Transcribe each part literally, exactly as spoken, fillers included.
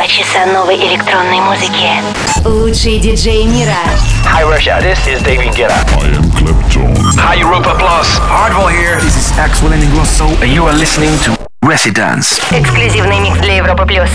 Два часа новой электронной музыки. Лучшие диджеи мира. Hi Russia, this is David Guetta. I am Clapton. Hi Europa Plus. Hardwell here. This is Axel Ingrosso, and you are listening to Residence. Эксклюзивный микс для Европы плюс.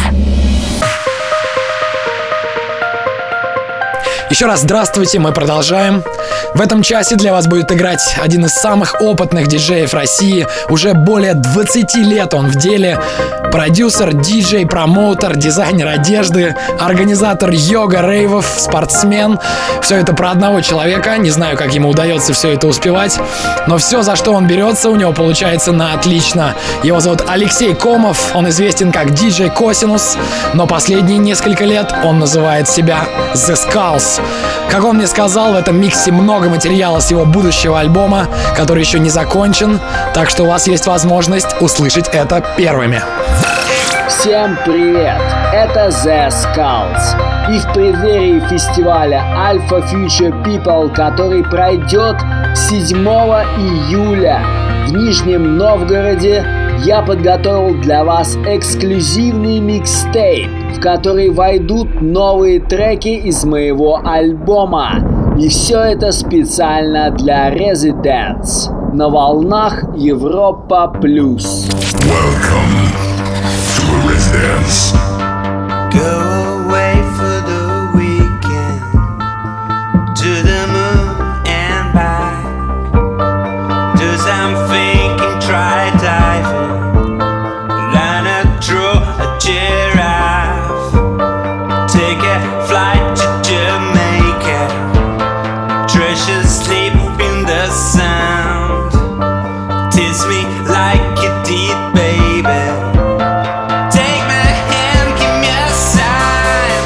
Еще раз здравствуйте, мы продолжаем. В этом часе для вас будет играть один из самых опытных диджеев России. Уже более двадцати лет он в деле. Продюсер, диджей, промоутер, дизайнер одежды, организатор йога, рейвов, спортсмен. Все это про одного человека. Не знаю, как ему удается все это успевать. Но все, за что он берется, у него получается на отлично. Его зовут Алексей Комов. Он известен как диджей Косинус. Но последние несколько лет он называет себя The Skulls. Как он мне сказал, в этом миксе много материала с его будущего альбома, который еще не закончен, так что у вас есть возможность услышать это первыми. Всем привет! Это The Skulls. И в преддверии фестиваля Alpha Future People, который пройдет седьмого июля в Нижнем Новгороде, я подготовил для вас эксклюзивный микстейп, в который войдут новые треки из моего альбома. И все это специально для Residence на волнах Европа Плюс. Welcome to Residence. Go away for the weekend to the moon and back. Do something, try diving, learn a draw a giraffe, take a flight to Jamaica, treasure sleep in the sound, tease me like you did, baby. Take my hand, give me a sign.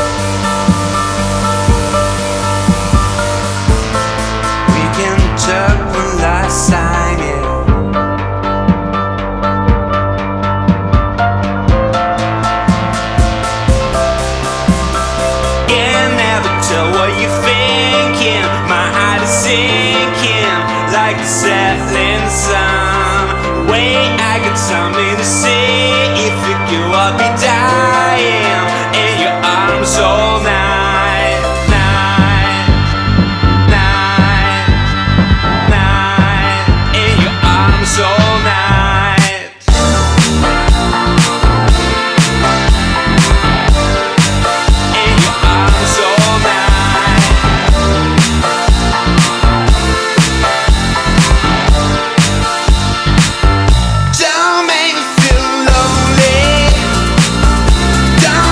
We can talk one last time, yeah. Can never tell what you're thinking. My heart is sinking like the setting sun. Way I got something to say. If you go, I'll be dying in your arms all night, night, night, night. In your arms all night. In your arms all night. Don't make me feel lonely. Don't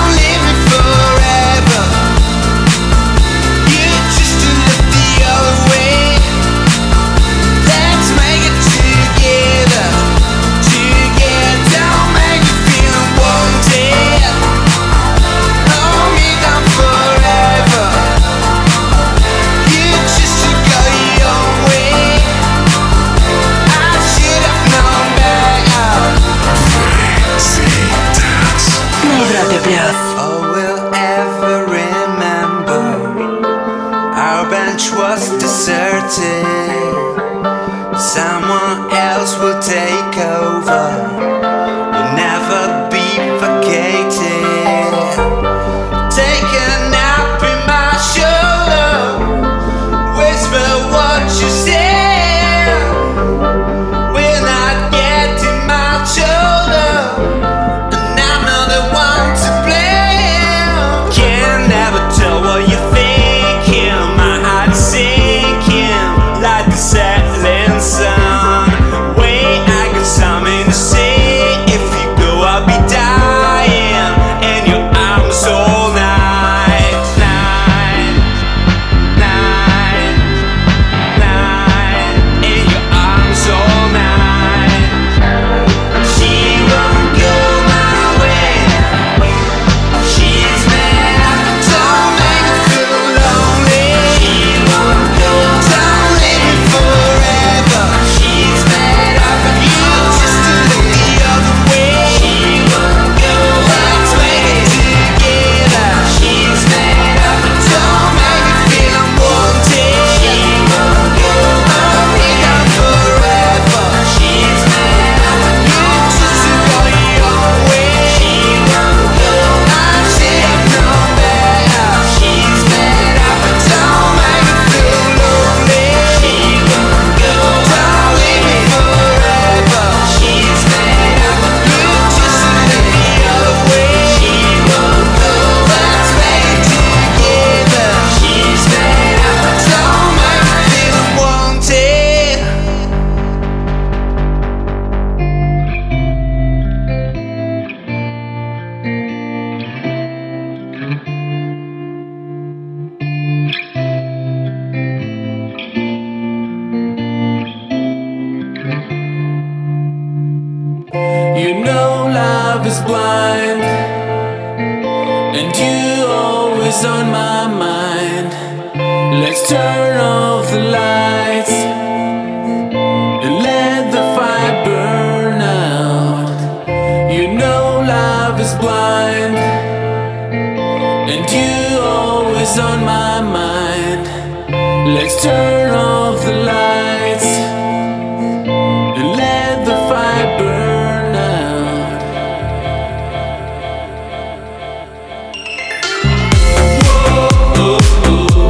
is blind, and you always on my mind. Let's turn off the lights and let the fire burn out. You know love is blind, and you always on my mind. Let's turn off the lights and let the fire burn out. Whoa, oh, oh.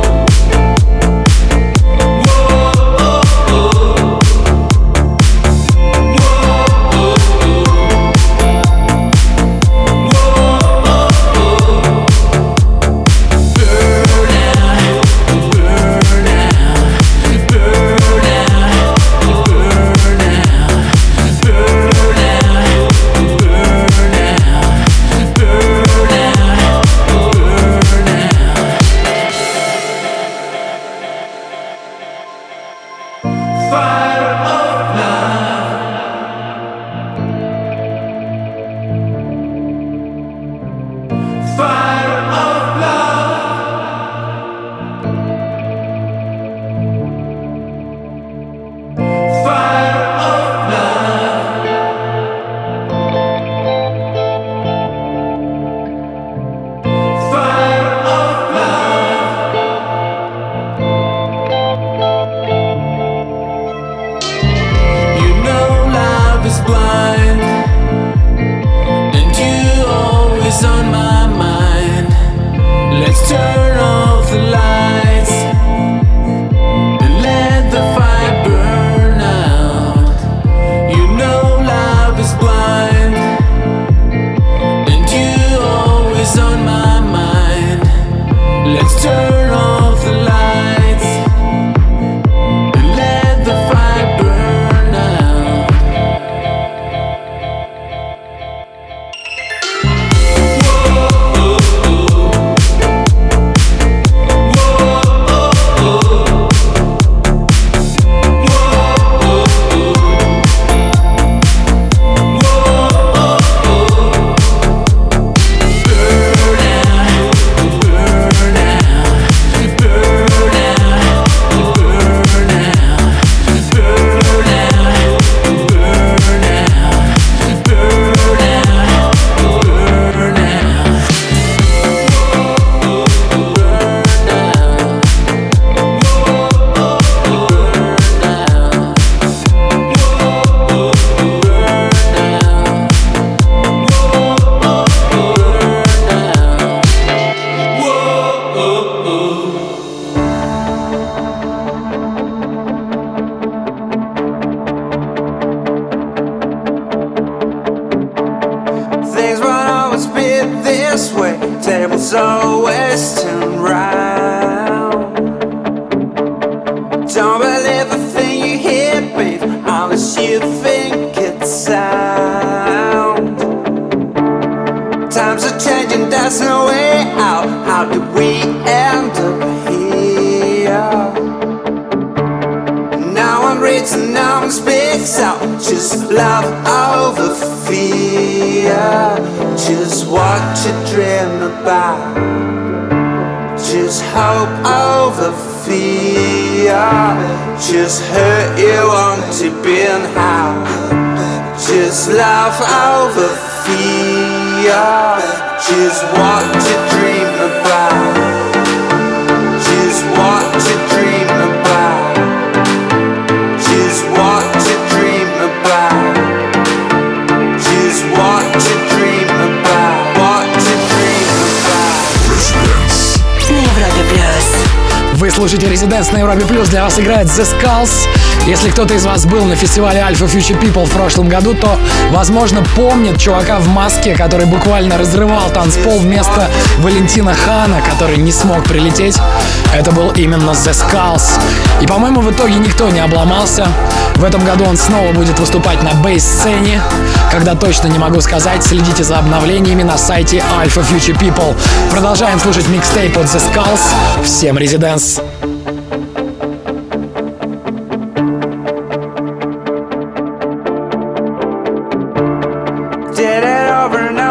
Just hurt you want to be and how. Just laugh over fear. Just what to dream about. Just what to dream about. Just what to dream about. Just what to dream about. What to dream about. Residence. На Европе Плюс. Вы слушаете Residence на Европе Плюс. Для вас играет The Skulls. Если кто-то из вас был на фестивале Alpha Future People в прошлом году, то, возможно, помнит чувака в маске, который буквально разрывал танцпол вместо Валентина Хана, который не смог прилететь. Это был именно The Skulls. И, по-моему, в итоге никто не обломался. В этом году он снова будет выступать на бейс-сцене. Когда точно не могу сказать, следите за обновлениями на сайте Alpha Future People. Продолжаем слушать микстейп от The Skulls. Всем Residence. Did it over and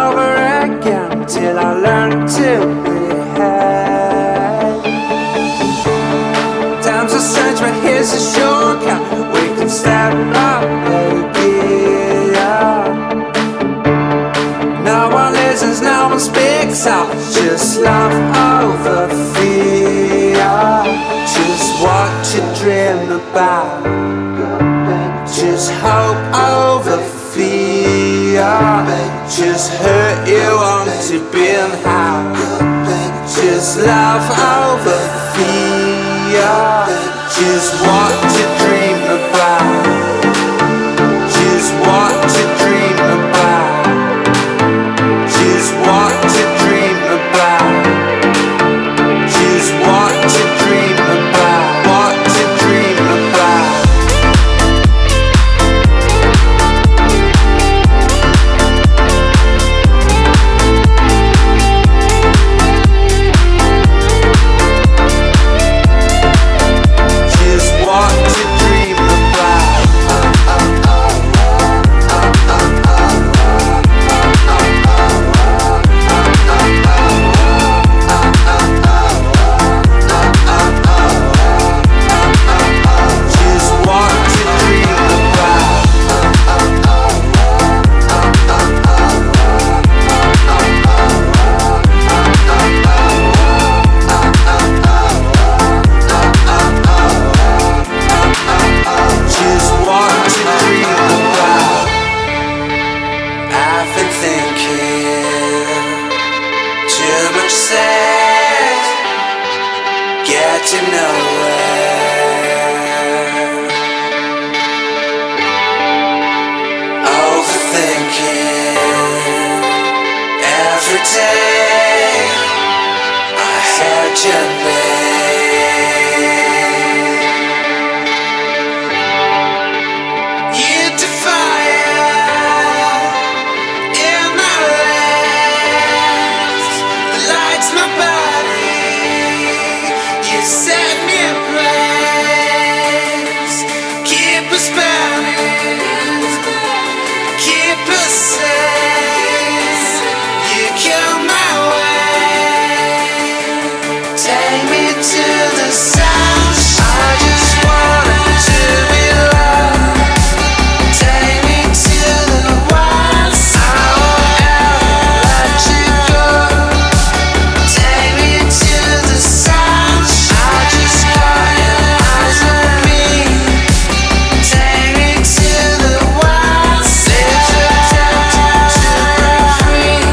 learn to behave. Times are strange, but here's a shortcut. We can step up again. No one listens, no one speaks up. Just love over fear. Just what you dream about. Just hope over fear. Just hurt you want to build house. Just love over fear. Just what you dream about. Just what you dream about. Just what you dream about. Just what you dream about. What you dream about. Just what you dream about. Just what you dream about. Just what you dream about. I've been thinking too much sex, getting nowhere. Overthinking every day. I had your name. You define in my legs, the lights my body. You set me ablaze. Keep us burning, keep us safe. You come my way. Take me to the sound. I just want to be loved. Take me to the wilds. I won't ever let you go. Take me to the sound. I just got your eyes on me. Take me to the wilds. Live the tempted to break free.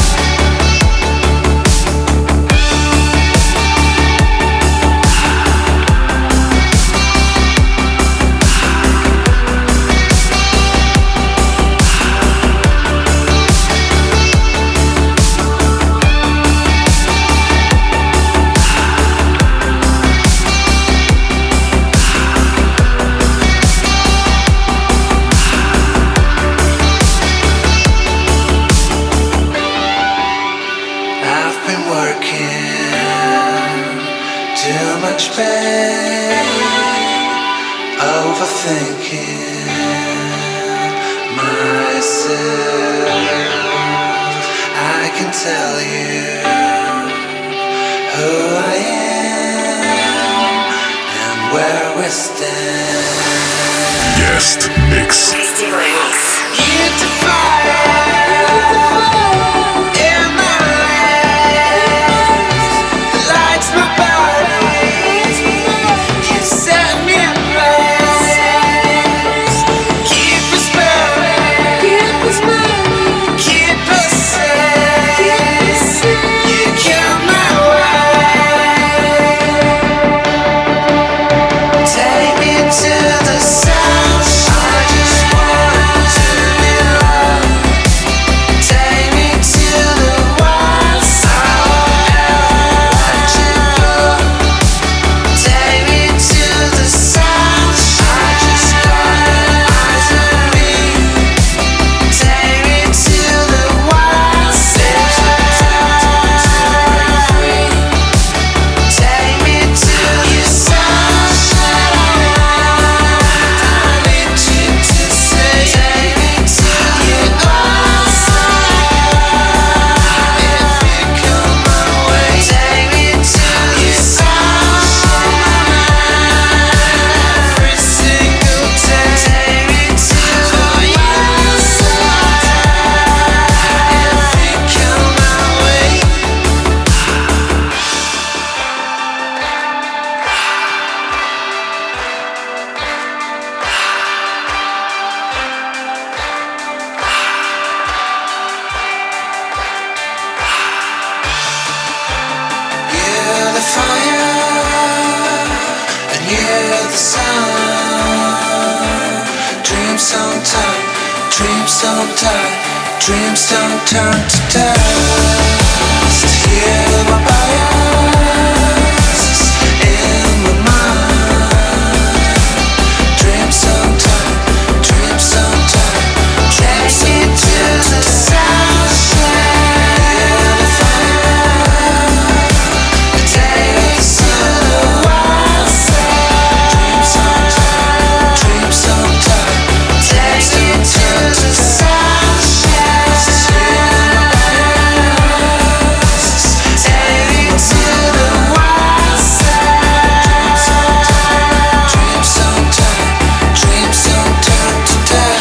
I've been working too much pain, overthinking myself. I can tell you who I am and where we stand. Guest mix. You define in my legs, the lights my body. You set me ablaze. Keep us burning, keep us safe. You come my way. Take me to the sound. I just wanna dreams don't turn, dreams don't turn, dreams don't turn to dust. Hear my bias in my mind. Dreams don't turn, dreams don't turn, dreams don't turn to the sunshine. Take me to the wild side. Dreams don't turn, dreams don't turn, take me to the sunshine. Take me to the wild side. Dreams don't turn, dreams don't turn to dust.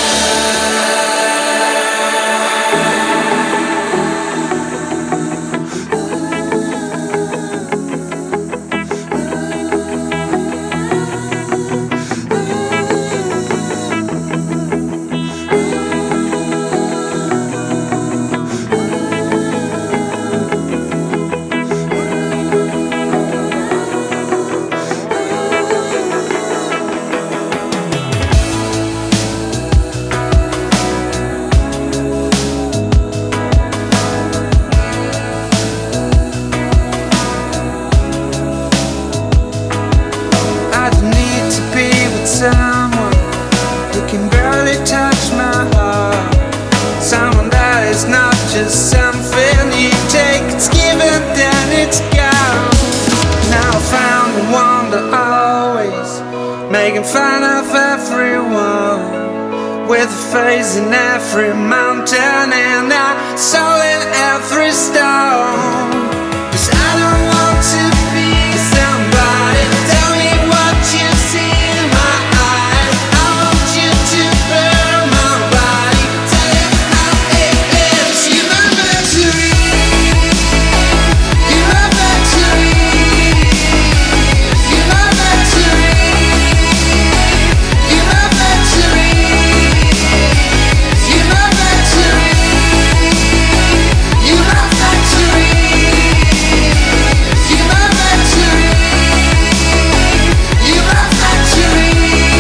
I need to be with someone who can barely touch my heart. Someone that is not just something you take, it's given, then it's gone. Now I found the one that always making fun of everyone, with a face in every mountain and a soul in every stone. 'Cause I don't want to be somebody. Tell me what you see in my eyes. I want you to burn my body. Tell you how it is. You're my victory. You're my victory. You're my victory. You're my victory. You're my victory. You're my victory. You're my victory. You're my victory.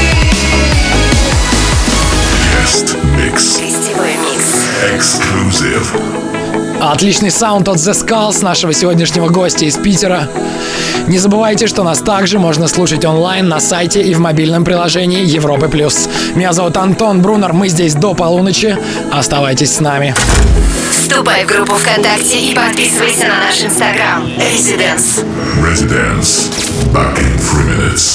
Guest mix. Гостевой микс. Exclusive. Отличный саунд от The Skulls, нашего сегодняшнего гостя из Питера. Не забывайте, что нас также можно слушать онлайн на сайте и в мобильном приложении Европы плюс. Меня зовут Антон Брунер, мы здесь до полуночи. Оставайтесь с нами. Вступай в группу ВКонтакте и подписывайся на наш инстаграм Residence. Residence. Back in three minutes.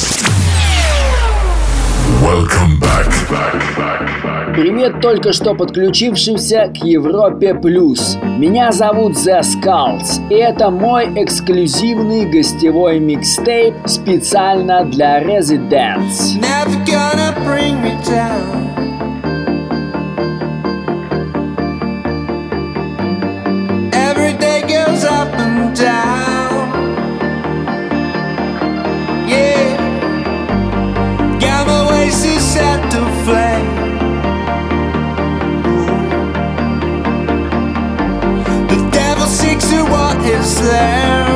Welcome back. back, back, back. Привет только что подключившимся к Европе Плюс. Меня зовут The Skulls, и это мой эксклюзивный гостевой микстейп специально для Residence. Never gonna bring me down. Every day goes up and down. Yeah, got my ways to set the flame. The devil seeks to what is there.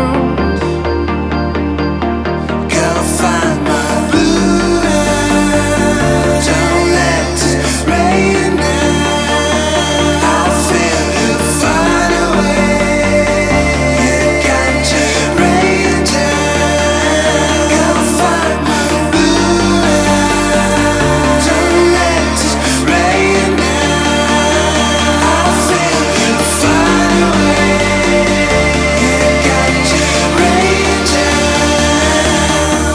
Gotta find my Buddha. Don't let it rain down. I feel you find a way. You got to rain down. Gotta find my Buddha. Don't let it rain down. I feel you find a way. You got to rain down.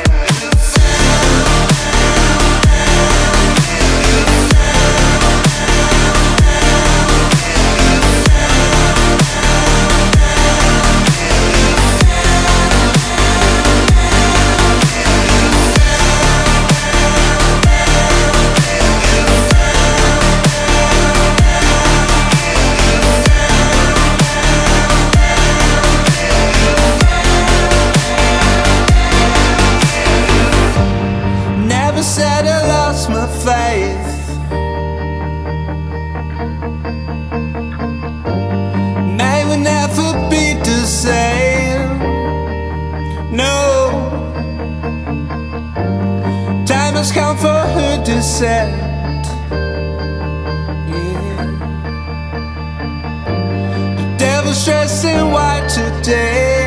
Never said I lost my faith. May we never be the same. No, time has come for her to set. was dressed in white today.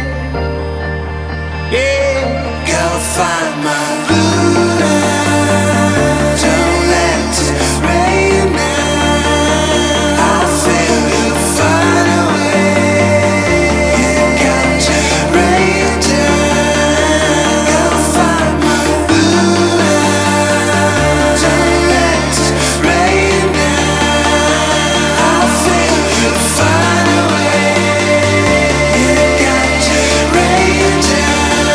Yeah, gotta find my Buddha. Don't let it rain now. I feel you find a way. You got to rain down. Gotta find my Buddha. Don't let it rain now. I feel you find a way. You got to rain down.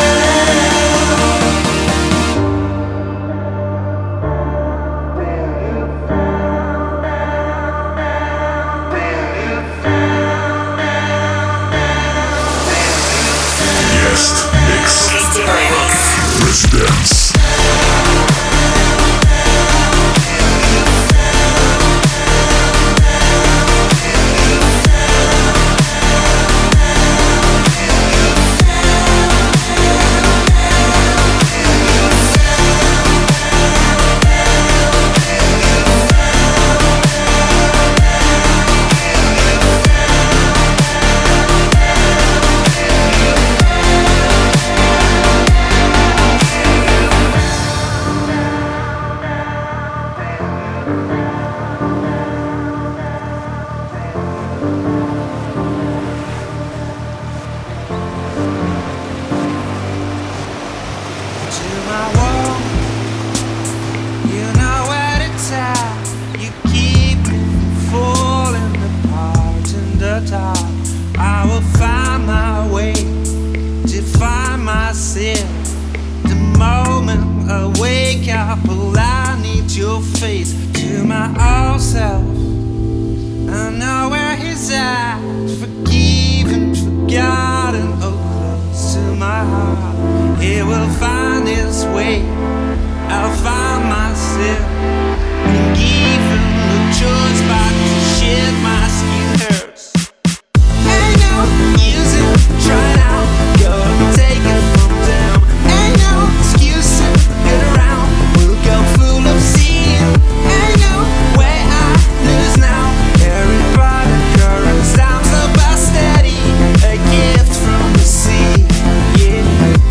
Guest mix. Гостевой микс. Residence. To my wall, you know what it's at. You keep me from falling apart in the dark. I will find my way to find myself. The moment I wake up, well, I need your face. To my old self, I know where he's at. Forgiven, forgotten, oh, close to my heart. He will find his way. I'll find myself. And given no choice but to shed my skin hurts. Ain't no use in trying out. Gonna take it from them. Ain't no excuse to get around. We'll go full of sin. Ain't no way I lose now. Everybody currents down so by steady. A gift from the sea. Yeah.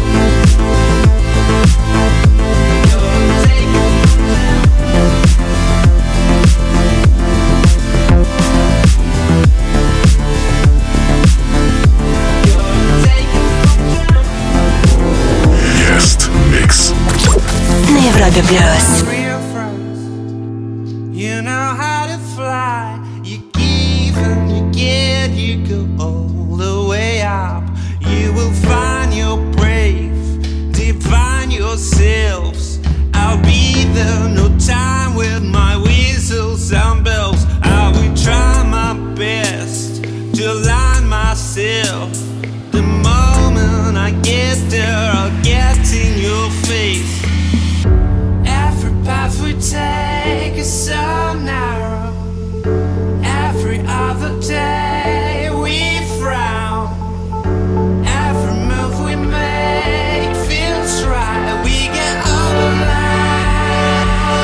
Guest mix. На Европе плюс. Real friends, you know how to fly. You give and you get, you go all the way up. You will find your brave, define yourselves. I'll be there, no time with my whistles and bells. I will try my best to align myself. The moment I get there, I'll get in your face. Every path we take is so narrow. Every other day we frown. Every move we make feels right. We get overlapped.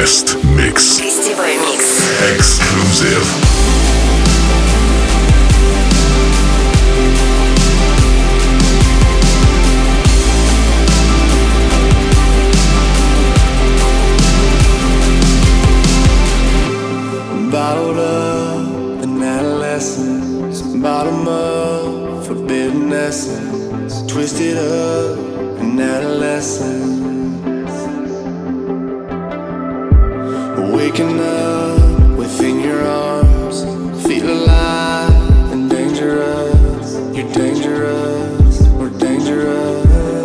Guest mix. Гостевой микс. Exclusive. Bottled up in adolescence, bottom up, forbidden essence, twisted up in adolescence. Waking up within your arms, feel alive and dangerous. You're dangerous, we're dangerous.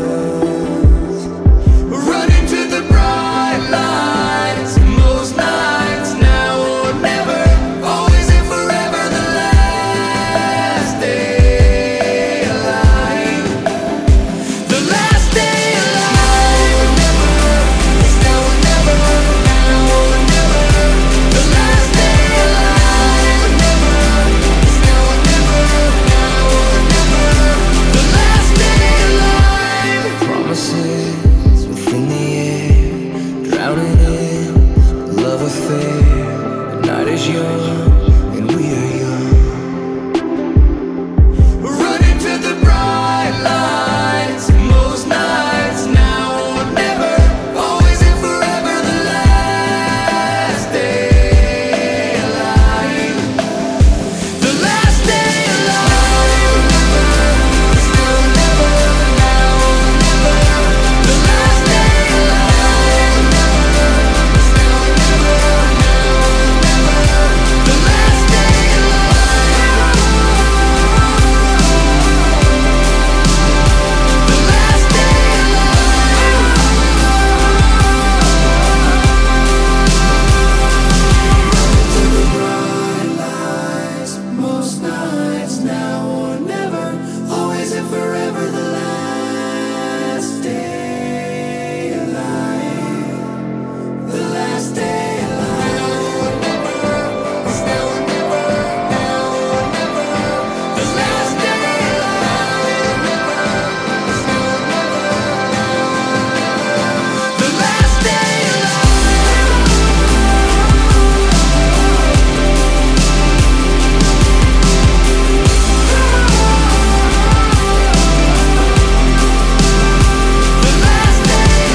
Running to the bright lights, most nights now or never, always and forever the last day alive. The last day alive, never, it's now or never, now or never. The last day alive, never, it's now or never, now or never. The last day alive. Promises within the air, drowning in love affair. The night is young and we are young. Running to the bright lights, most nights now or never, always and forever the last day alive. The last day alive, never, it's now or never, now or never. The last day alive, never, it's now or never, now or never. The last day alive. The last day alive. Most nights now or never, always and forever the last day alive. The last day alive. It's now or never, now or never. The last day alive. It's now or never, now or never. The last day alive. The last day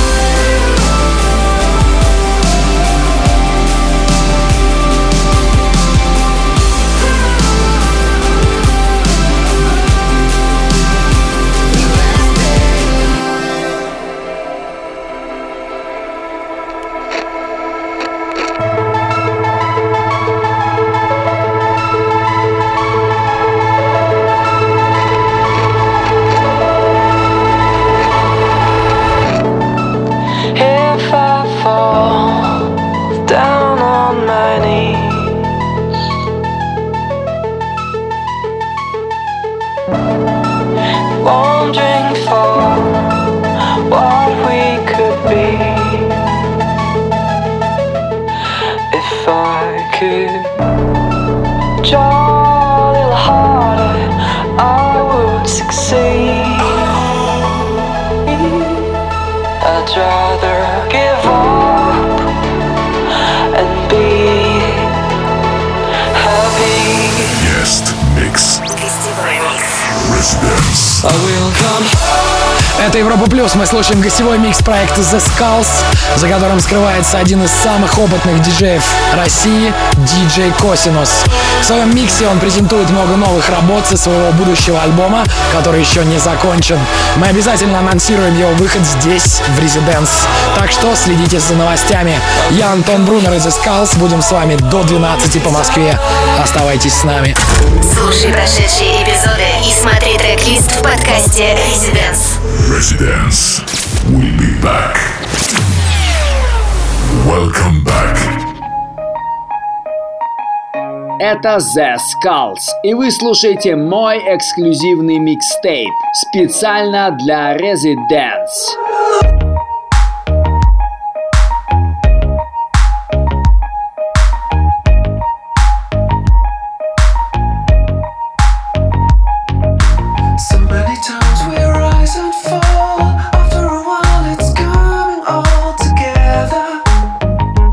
If I fall down on my knees, wondering for what we could be, if I could draw a little harder, I would succeed. I'd rather give up and be happy. Guest mix. Гостевой микс. Residence. I will come Это Европа Плюс. Мы слушаем гостевой микс проекта The Skulls, за которым скрывается один из самых опытных диджеев России, диджей Косинус. В своем миксе он презентует много новых работ со своего будущего альбома, который еще не закончен. Мы обязательно анонсируем его выход здесь, в Residence. Так что следите за новостями. Я Антон Брунер из The Skulls. Будем с вами до двенадцати по Москве. Оставайтесь с нами. Слушай прошедшие эпизоды и смотри трек-лист в подкасте Residence. Residence. We'll be back. Welcome back. Это The Skulls, и вы слушаете мой эксклюзивный микстейп специально для Residence. fall. After a while, it's coming all together.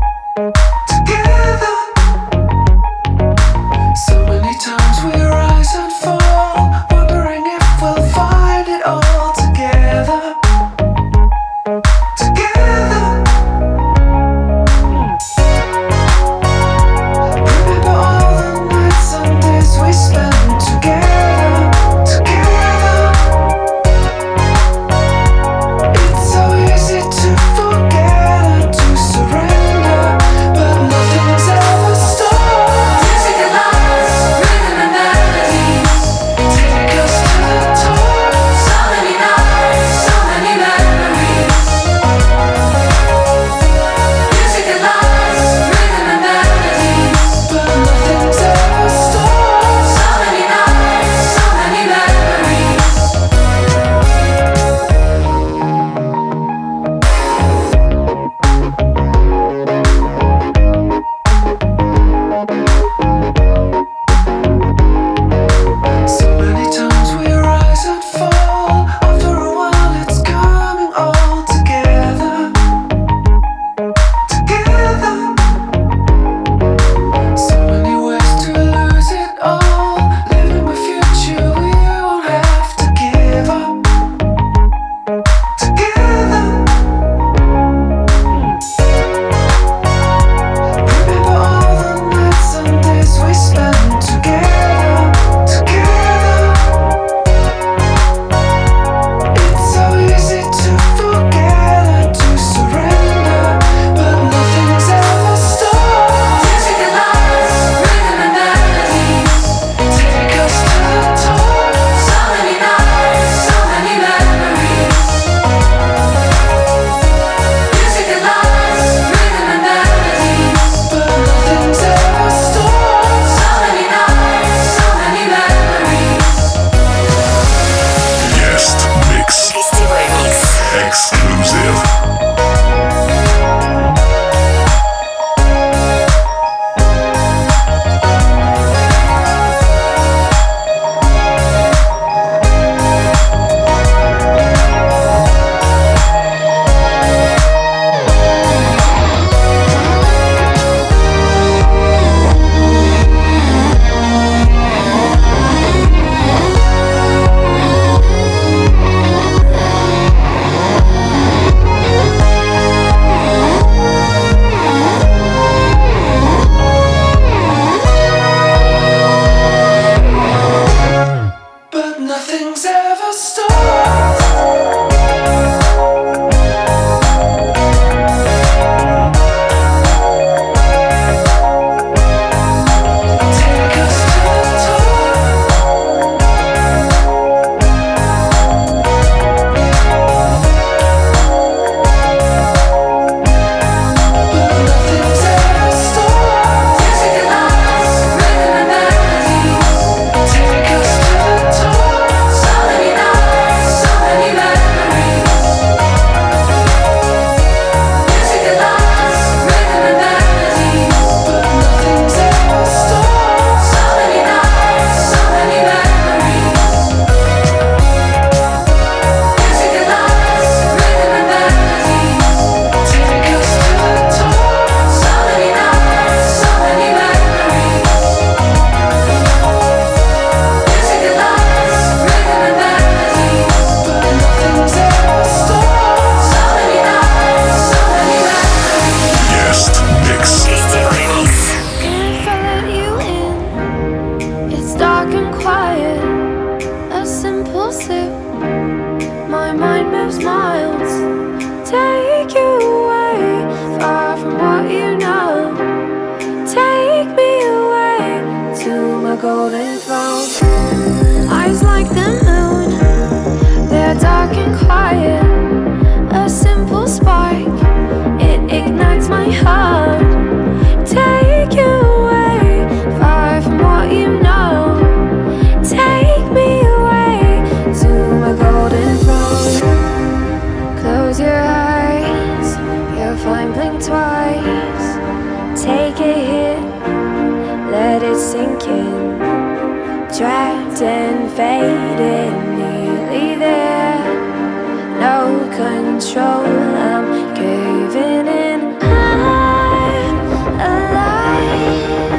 sink in, trapped and faded, nearly there. No control, I'm caving in. I'm alive,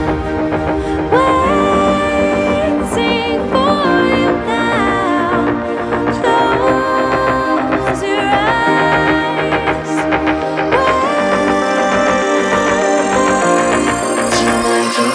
waiting for you now. Close your eyes. Wait till I can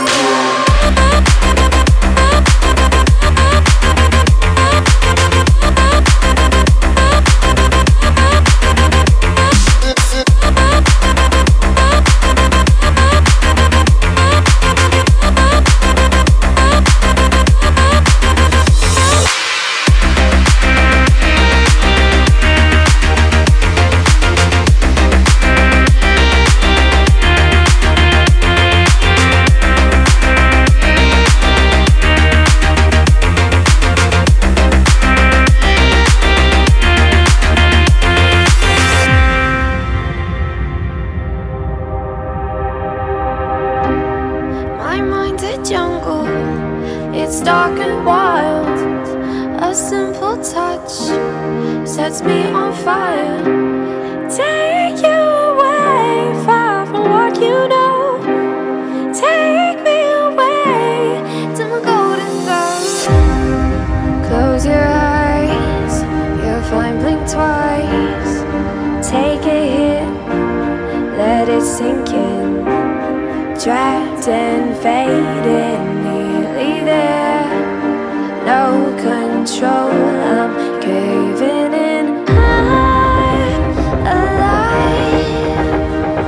sets me on fire. Take you away, far from what you know. Take me away to my golden throne. Close your eyes, you'll find blink twice. Take a hit, let it sink in. Trapped and faded, nearly there. No control, I'm caving in. I'm alive,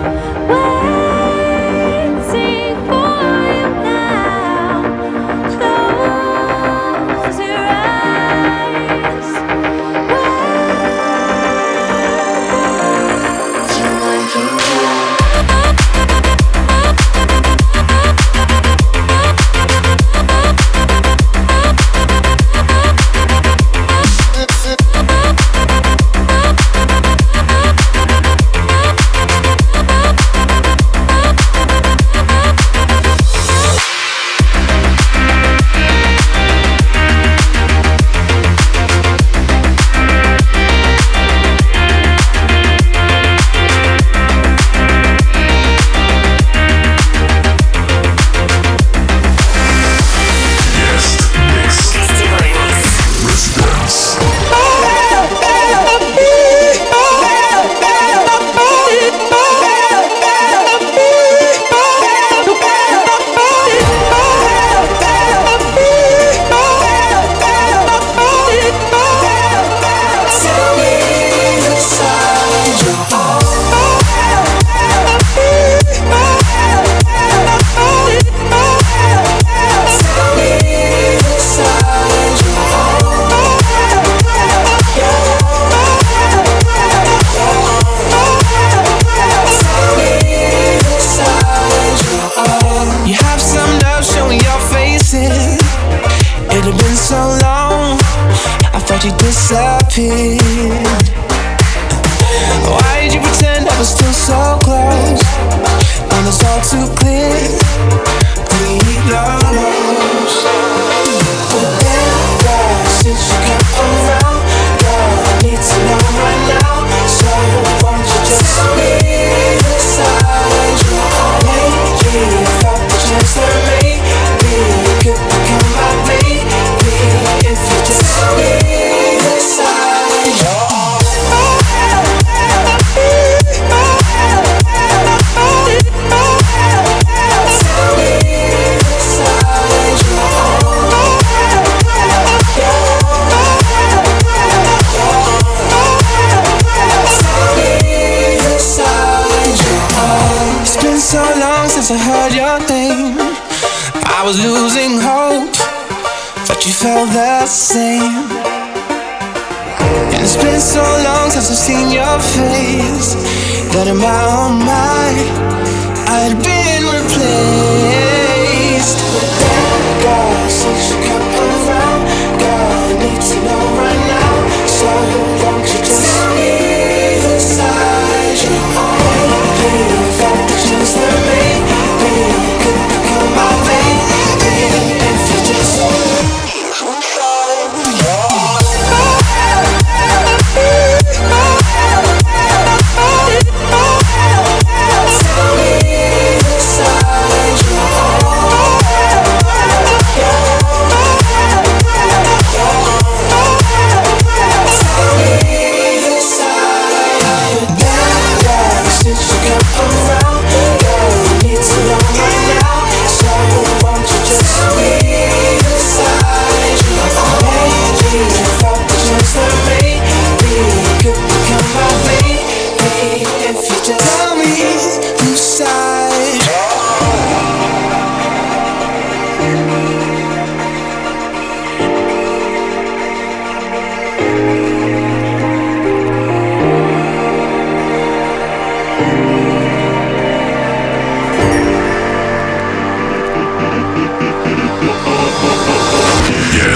waiting for you now. Close your eyes. Wait till I can disappeared. Why did you pretend I was still so close when it's all too clear? We lost. But then, God, since you come around, God, I need to know right now. So won't you just leave aside your lately? If I the chance to maybe you could become my baby, if you just leave aside your so long since I heard your name. I was losing hope, but you felt the same. And it's been so long since I've seen your face that in my own mind I'd been replaced. But then God, since you come around, God, I need to know right now. So won't you just leave aside your own pain? If I could choose the maybe you could become my baby.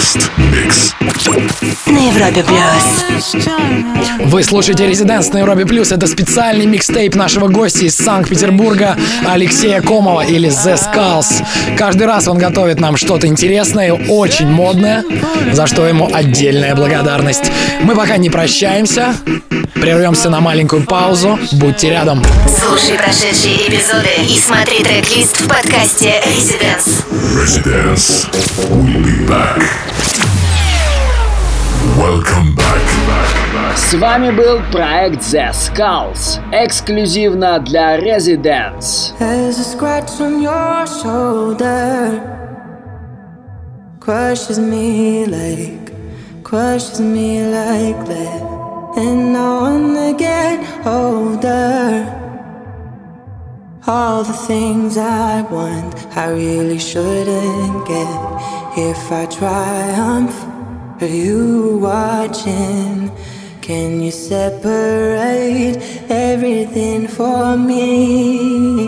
Guest Mix. На Европе Плюс. Вы слушаете Residence на Европе Плюс. Это специальный микстейп нашего гостя из Санкт-Петербурга Алексея Комова или The Skulls. Каждый раз он готовит нам что-то интересное, очень модное, за что ему отдельная благодарность. Мы пока не прощаемся, прервемся на маленькую паузу. Будьте рядом. Слушай прошедшие эпизоды и смотри трек-лист в подкасте Residence. Residence. We'll be back. Welcome back. С вами был проект The Skulls, эксклюзивно для Residence. There's a scratch on your shoulder, crushes me like, crushes me like that. And I wanna get older. All the things I want, I really shouldn't get. If I triumph, are you watching? Can you separate everything for me?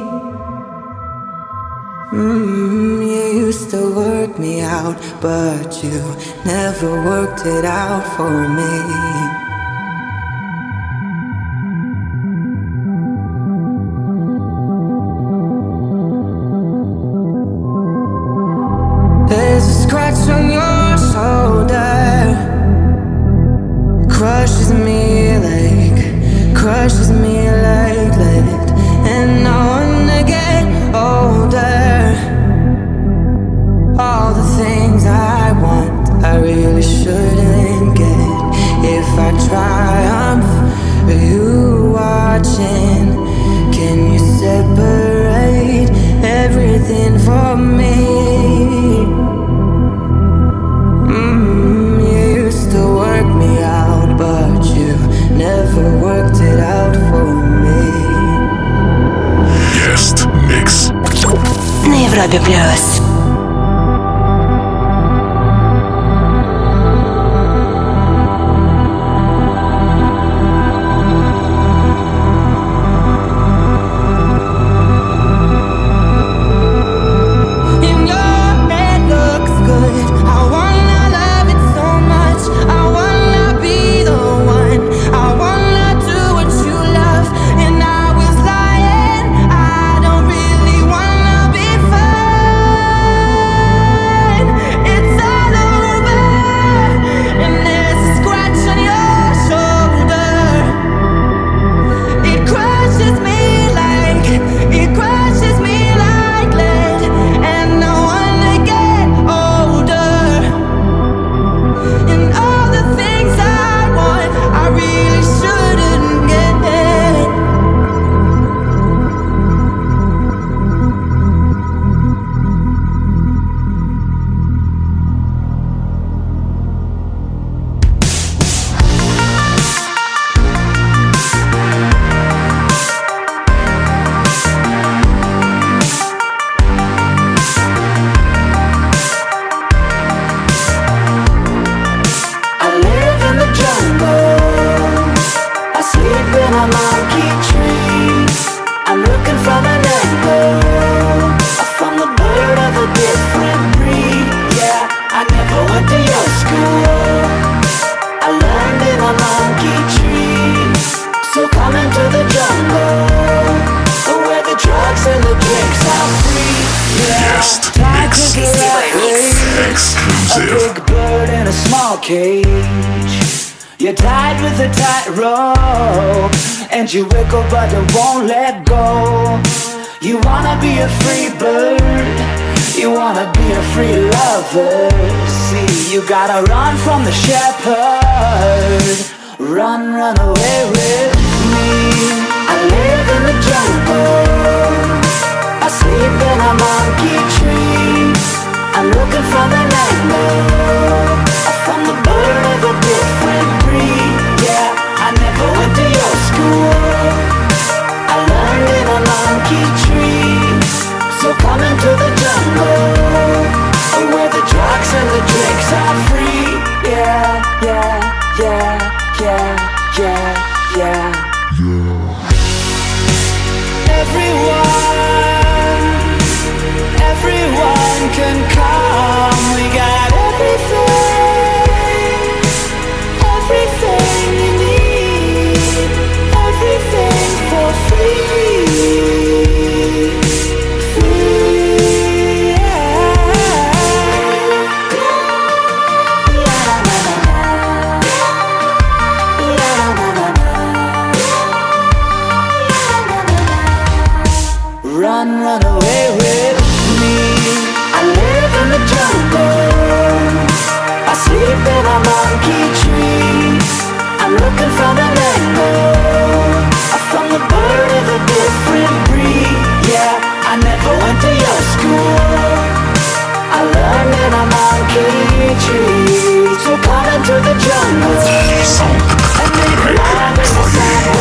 Mm, you used to work me out, but you never worked it out for me. There's a scratch on your shoulder, crushes me like, crushes me like that. And I wanna get older. All the things I want, I really shouldn't get. If I triumph, are you watching? Can you separate everything for me? Mm, you used to work me out, but you never worked it out for me. Guest Mix. На Европе Плюс. You're tied with a tight rope, and you wiggle but it won't let go. You wanna be a free bird, you wanna be a free lover. See, you gotta run from the shepherd. Run, run away with me. I live in the jungle, I sleep in a monkey tree. I'm looking for the rainbow, from the bird of a different breed. Yeah, I never went to your school, I learned in a monkey tree. So come into the jungle, where the drugs and the drinks are free. Yeah, yeah, yeah, yeah, yeah, yeah. Everyone, everyone can come. We got everything. run away with me. I live in the jungle, I sleep in a monkey tree. I'm looking from an angle, from the bird of a different breed. Yeah, I never went to your school, I learned in a monkey tree. So come into the jungle and make love in the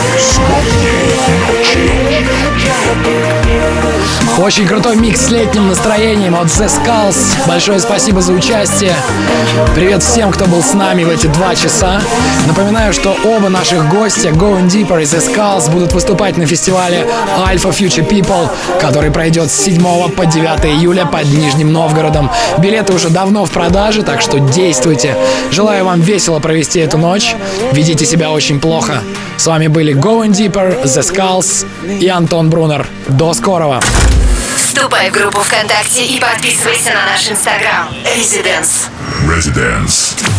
Очень крутой микс с летним настроением от The Skulls. Большое спасибо за участие. Привет всем, кто был с нами в эти два часа. Напоминаю, что оба наших гостя, Going Deeper и The Skulls, будут выступать на фестивале Alpha Future People, который пройдет с седьмого по девятое июля под Нижним Новгородом. Билеты уже давно в продаже, так что действуйте. Желаю вам весело провести эту ночь. Ведите себя очень плохо. С вами были Going Deeper, The Skulls и Антон Брунер. До скорого! Вступай в группу ВКонтакте и подписывайся на наш инстаграм Residence. Residence.